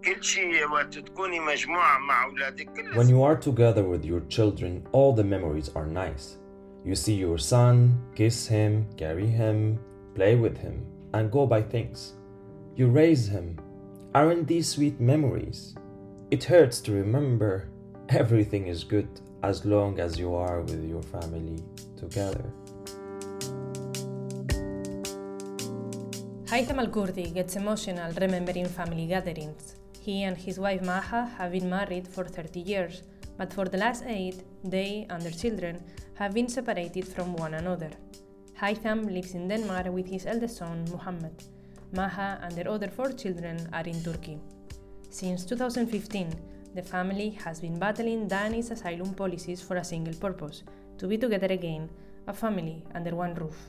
كل شيء وقت تكوني مجموعة مع أولادك. When you are together with your children, all the memories are nice. You see your son, kiss him, carry him, play with him, and go buy things. You raise him. Aren't these sweet memories? It hurts to remember. Everything is good as long as you are with your family together. Haitham Al-Kurdi gets emotional remembering family gatherings. He and his wife Maha have been married for 30 years, but for the last 8, they and their children have been separated from one another. Haitham lives in Denmark with his eldest son, Muhammad. Maha and their other 4 children are in Turkey. Since 2015, the family has been battling Danish asylum policies for a single purpose: to be together again, a family under one roof.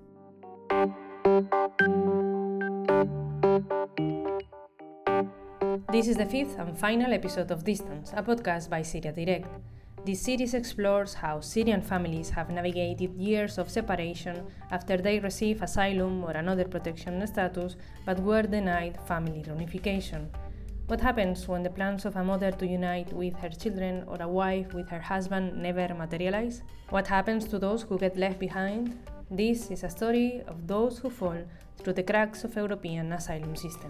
This is the 5th and final episode of Distance, a podcast by Syria Direct. This series explores how Syrian families have navigated years of separation after they receive asylum or another protection status but were denied family reunification. What happens when the plans of a mother to unite with her children or a wife with her husband never materialize? What happens to those who get left behind? This is a story of those who fall through the cracks of European asylum system.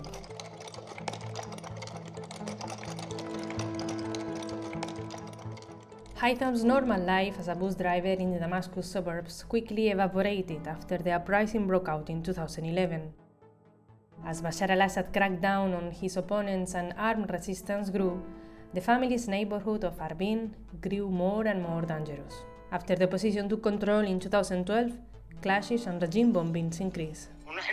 Haitham's normal life as a bus driver in the Damascus suburbs quickly evaporated after the uprising broke out in 2011. As Bashar al-Assad cracked down on his opponents and armed resistance grew, the family's neighborhood of Arbin grew more and more dangerous. After the opposition took control in 2012, clashes and regime bombings increased.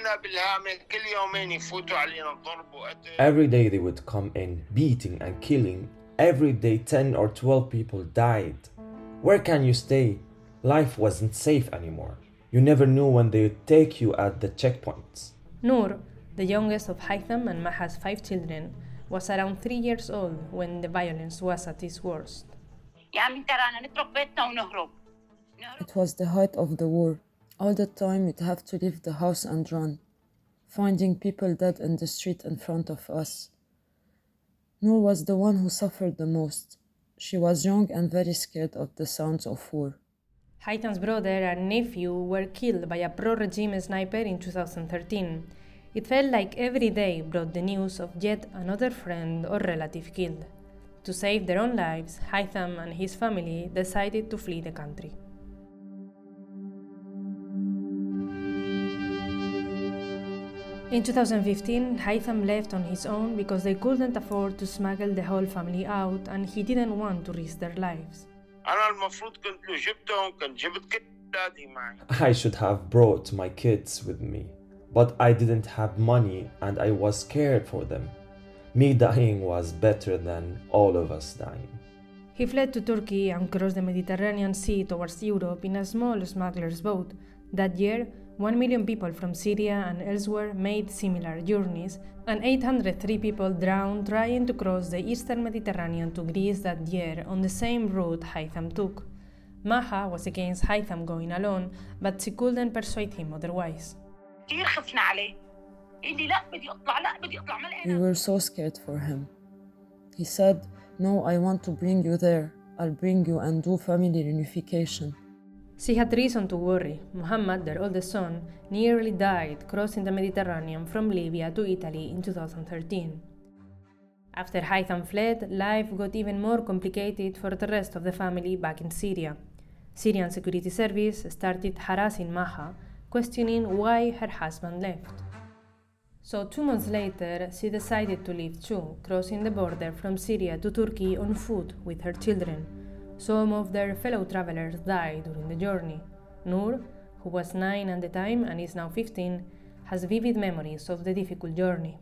Every day they would come in, beating and killing. Every day 10 or 12 people died. Where can you stay? Life wasn't safe anymore. You never knew when they would take you at the checkpoints. Noor, the youngest of Haitham and Maha's 5 children, was around 3 years old when the violence was at its worst. It was the height of the war. All the time we'd have to leave the house and run, finding people dead in the street in front of us. Noor was the one who suffered the most. She was young and very scared of the sounds of war. Haitham's brother and nephew were killed by a pro-regime sniper in 2013. It felt like every day brought the news of yet another friend or relative killed. To save their own lives, Haitham and his family decided to flee the country. In 2015, Haitham left on his own because they couldn't afford to smuggle the whole family out and he didn't want to risk their lives. I should have brought my kids with me, but I didn't have money and I was scared for them. Me dying was better than all of us dying. He fled to Turkey and crossed the Mediterranean Sea towards Europe in a small smuggler's boat. That year, 1 million people from Syria and elsewhere made similar journeys, and 803 people drowned trying to cross the eastern Mediterranean to Greece that year on the same route Haitham took. Maha was against Haitham going alone, but she couldn't persuade him otherwise. We were so scared for him. He said, "No, I want to bring you there. I'll bring you and do family reunification." She had reason to worry. Muhammad, their oldest son, nearly died crossing the Mediterranean from Libya to Italy in 2013. After Haitham fled, life got even more complicated for the rest of the family back in Syria. Syrian Security Service started harassing Maha, questioning why her husband left. So 2 months later, she decided to leave too, crossing the border from Syria to Turkey on foot with her children. Some of their fellow travelers died during the journey. Noor, who was 9 at the time and is now 15, has vivid memories of the difficult journey.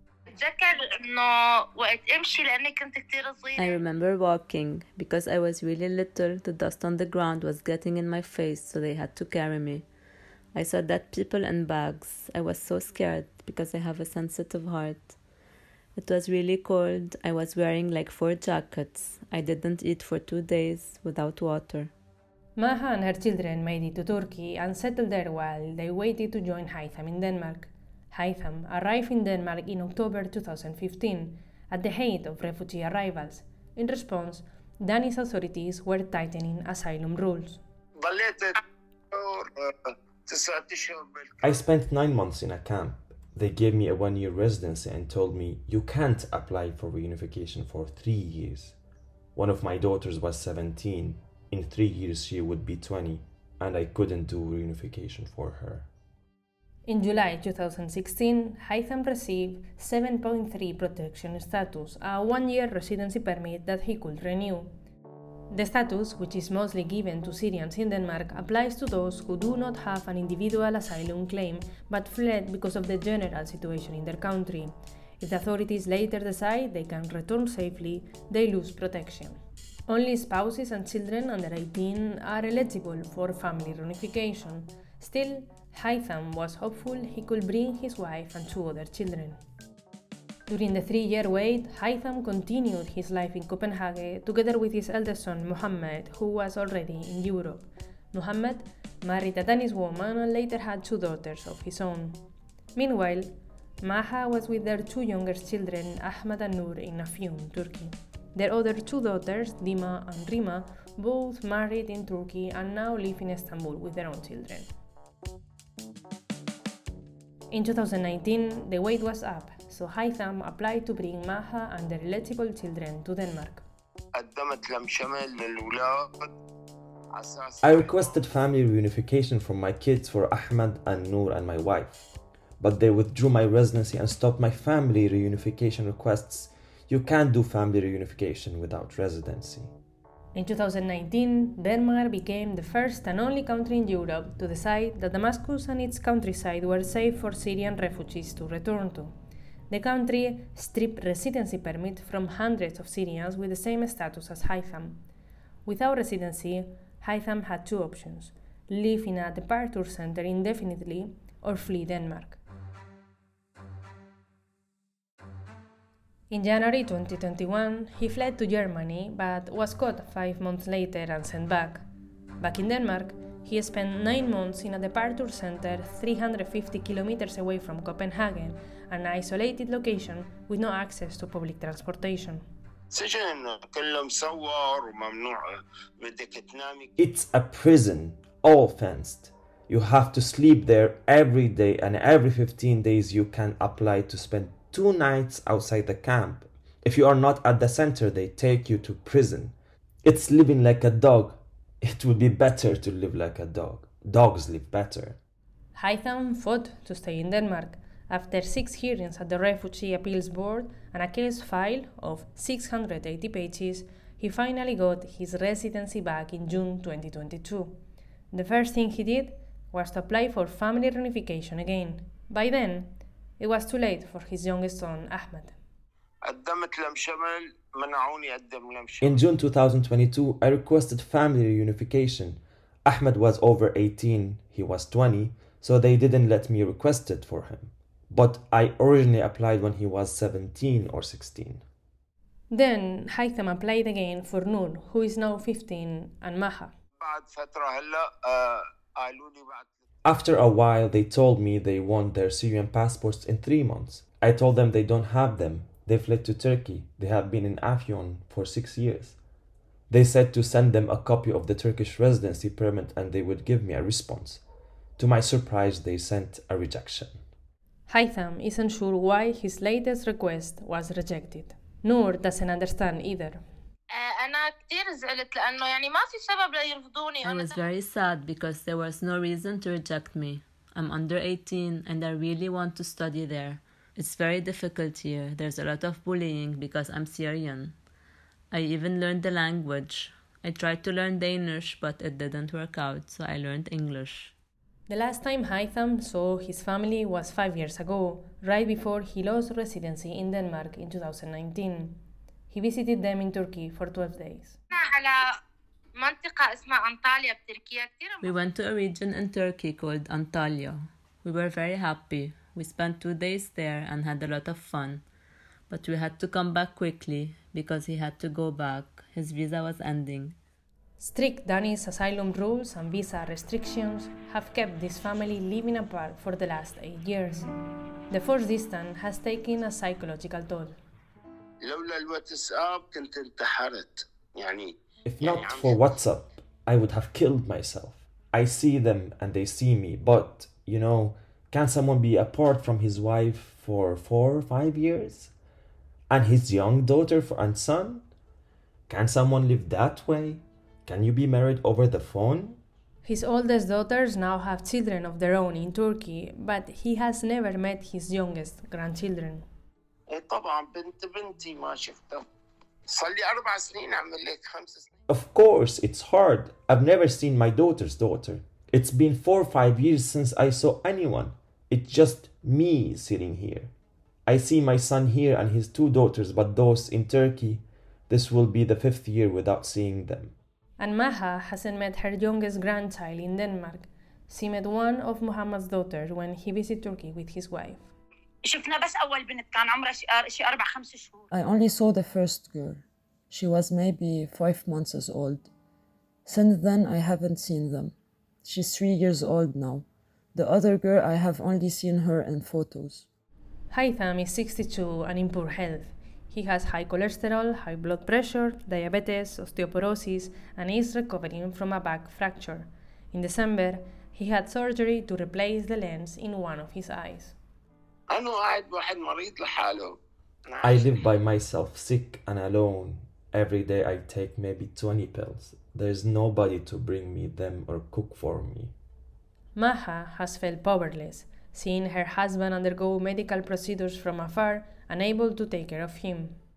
I remember walking. Because I was really little, the dust on the ground was getting in my face, so they had to carry me. I saw dead people in bags. I was so scared because I have a sensitive heart. It was really cold. I was wearing like 4 jackets. I didn't eat for 2 days without water. Maha and her children made it to Turkey and settled there while they waited to join Haitham in Denmark. Haitham arrived in Denmark in October 2015. at the height of refugee arrivals. In response, Danny's authorities were tightening asylum rules. I spent 9 months in a camp. They gave me a 1-year residency and told me, you can't apply for reunification for 3 years. One of my daughters was 17. In 3 years she would be 20, and I couldn't do reunification for her. In July 2016, Haitham received 7.3 protection status, a 1-year residency permit that he could renew. The status, which is mostly given to Syrians in Denmark, applies to those who do not have an individual asylum claim but fled because of the general situation in their country. If the authorities later decide they can return safely, they lose protection. Only spouses and children under 18 are eligible for family reunification. Still, Haitham was hopeful he could bring his wife and 2 other children. During the 3-year wait, Haitham continued his life in Copenhagen together with his eldest son Mohammed, who was already in Europe. Mohammed married a Danish woman and later had 2 daughters of his own. Meanwhile, Maha was with their 2 youngest children, Ahmed and Nur, in Afyon, Turkey. Their other 2 daughters, Dima and Rima, both married in Turkey and now live in Istanbul with their own children. In 2019, the wait was up, so Haitham applied to bring Maha and their eligible children to Denmark. I requested family reunification for my kids, for Ahmed and Noor and my wife, but they withdrew my residency and stopped my family reunification requests. You can't do family reunification without residency. In 2019, Denmark became the first and only country in Europe to decide that Damascus and its countryside were safe for Syrian refugees to return to. The country stripped residency permit from hundreds of Syrians with the same status as Haitham. Without residency, Haitham had 2 options: live in a departure center indefinitely or flee Denmark. In January 2021, he fled to Germany but was caught 5 months later and sent back. Back in Denmark, he spent 9 months in a departure center 350 kilometers away from Copenhagen, an isolated location with no access to public transportation. It's a prison, all fenced. You have to sleep there every day, and every 15 days you can apply to spend 2 nights outside the camp. If you are not at the center, they take you to prison. It's living like a dog. It would be better to live like a dog. Dogs live better. Haitham fought to stay in Denmark. After 6 hearings at the Refugee Appeals Board and a case file of 680 pages, he finally got his residency back in June 2022. The first thing he did was to apply for family reunification again. By then, it was too late for his youngest son, Ahmed. In June 2022, I requested family reunification. Ahmed was over 18, he was 20, so they didn't let me request it for him. But I originally applied when he was 17 or 16. Then Haitham applied again for Noor, who is now 15, and Maha. After a while, they told me they want their Syrian passports in 3 months. I told them they don't have them. They fled to Turkey. They have been in Afyon for 6 years. They said to send them a copy of the Turkish residency permit and they would give me a response. To my surprise, they sent a rejection. Haitham isn't sure why his latest request was rejected. Noor doesn't understand either. I was very sad because there was no reason to reject me. I'm under 18 and I really want to study there. It's very difficult here. There's a lot of bullying because I'm Syrian. I even learned the language. I tried to learn Danish, but it didn't work out, so I learned English. The last time Haitham saw his family was 5 years ago, right before he lost residency in Denmark in 2019. He visited them in Turkey for 12 days. We went to a region in Turkey called Antalya. We were very happy. We spent 2 days there and had a lot of fun. But we had to come back quickly because he had to go back. His visa was ending. Strict Danish asylum rules and visa restrictions have kept this family living apart for the last 8 years. The forced distance has taken a psychological toll. لولا الواتساب كنت انتحرت يعني. If not for WhatsApp, I would have killed myself. I see them and they see me, but, can someone be apart from his wife for 4 or 5 years? And his young daughter and son? Can someone live that way? Can you be married over the phone? His oldest daughters now have children of their own in Turkey, but he has never met his youngest grandchildren. طبعا بنتي ما شفتها. صار لي 4 سنين أعمل لك 5 سنين. Of course, it's hard. I've never seen my daughter's daughter. It's been 4 or 5 years since I saw anyone. It's just me sitting here. I see my son here and his 2 daughters, but those in Turkey, this will be the 5th year without seeing them. And Maha hasn't met her youngest grandchild in Denmark. She met one of Muhammad's daughters when he visited Turkey with his wife. شفنا بس أول بنت كان عمرها شي 4-5 شهور. I only saw the first girl. She was maybe 5 months old. Since then, I haven't seen them. She's 3 years old now. The other girl, I have only seen her in photos. Haitham is 62 and in poor health. He has high cholesterol, high blood pressure, diabetes, osteoporosis, and is recovering from a back fracture. In December, he had surgery to replace the lens in one of his eyes. I live by myself, sick and alone. Every day I take maybe 20 pills. There's nobody to bring me them or cook for me. Maha has felt powerless, seeing her husband undergo medical procedures from afar, unable to take care of him.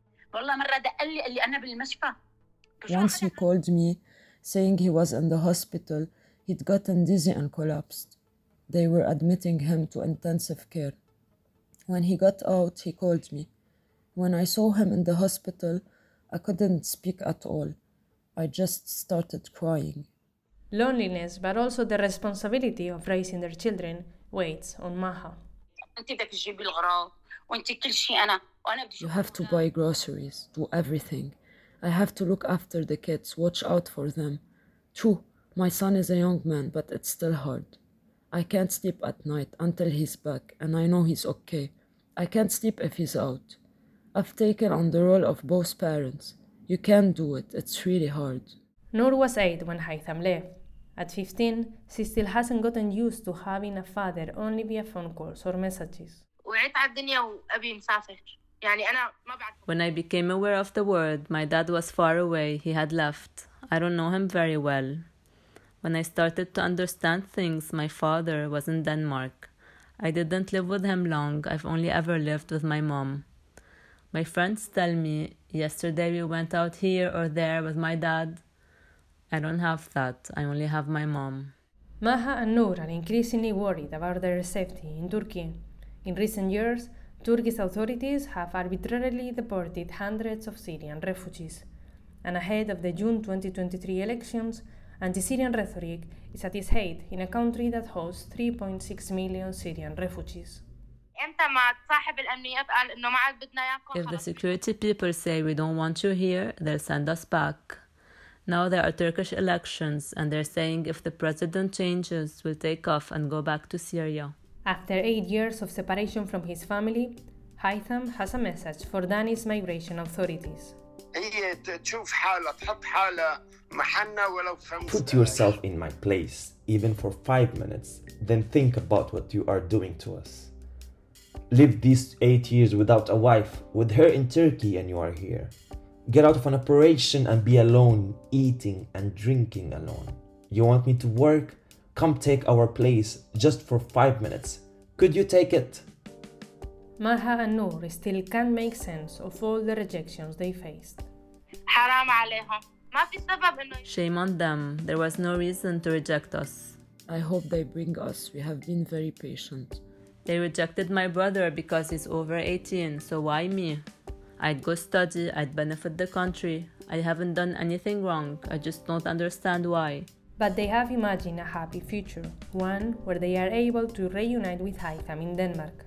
Once he called me, saying he was in the hospital, he'd gotten dizzy and collapsed. They were admitting him to intensive care. When he got out, he called me. When I saw him in the hospital, I couldn't speak at all. I just started crying. Loneliness, but also the responsibility of raising their children, weighs on Maha. You have to buy groceries, do everything. I have to look after the kids, watch out for them. True, my son is a young man, but it's still hard. I can't sleep at night until he's back, and I know he's okay. I can't sleep if he's out. I've taken on the role of both parents. You can't do it, it's really hard. Noor was 8 when Haitham left. At 15, she still hasn't gotten used to having a father only via phone calls or messages. When I became aware of the world, my dad was far away, he had left. I don't know him very well. When I started to understand things, my father was in Denmark. I didn't live with him long, I've only ever lived with my mom. My friends tell me, yesterday we went out here or there with my dad. I don't have that, I only have my mom. Maha and Noor are increasingly worried about their safety in Turkey. In recent years, Turkish authorities have arbitrarily deported hundreds of Syrian refugees. And ahead of the June 2023 elections, anti-Syrian rhetoric is at its height in a country that hosts 3.6 million Syrian refugees. If the security people say we don't want you here, they'll send us back. Now there are Turkish elections and they're saying if the president changes, we'll take off and go back to Syria. After 8 years of separation from his family, Haitham has a message for Danish migration authorities. Put yourself in my place, even for 5 minutes, then think about what you are doing to us. Live these 8 years without a wife, with her in Turkey and you are here. Get out of an operation and be alone, eating and drinking alone. You want me to work? Come take our place just for 5 minutes. Could you take it? Maha and Noor still can't make sense of all the rejections they faced. Shame on them. There was no reason to reject us. I hope they bring us. We have been very patient. They rejected my brother because he's over 18, so why me? I'd go study, I'd benefit the country. I haven't done anything wrong, I just don't understand why. But they have imagined a happy future, one where they are able to reunite with Haitham in Denmark.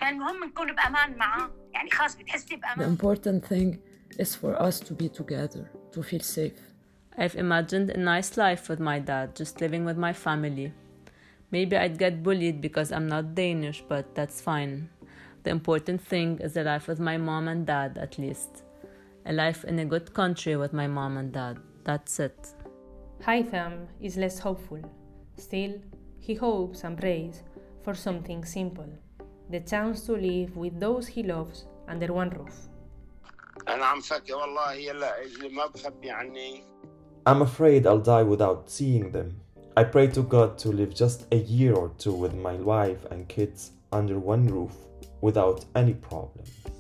The important thing is for us to be together, to feel safe. I've imagined a nice life with my dad, just living with my family. Maybe I'd get bullied because I'm not Danish, but that's fine. The important thing is a life with my mom and dad, at least. A life in a good country with my mom and dad. That's it. Haitham is less hopeful. Still, he hopes and prays for something simple. The chance to live with those he loves under one roof. I'm afraid I'll die without seeing them. I pray to God to live just a year or two with my wife and kids under one roof without any problem.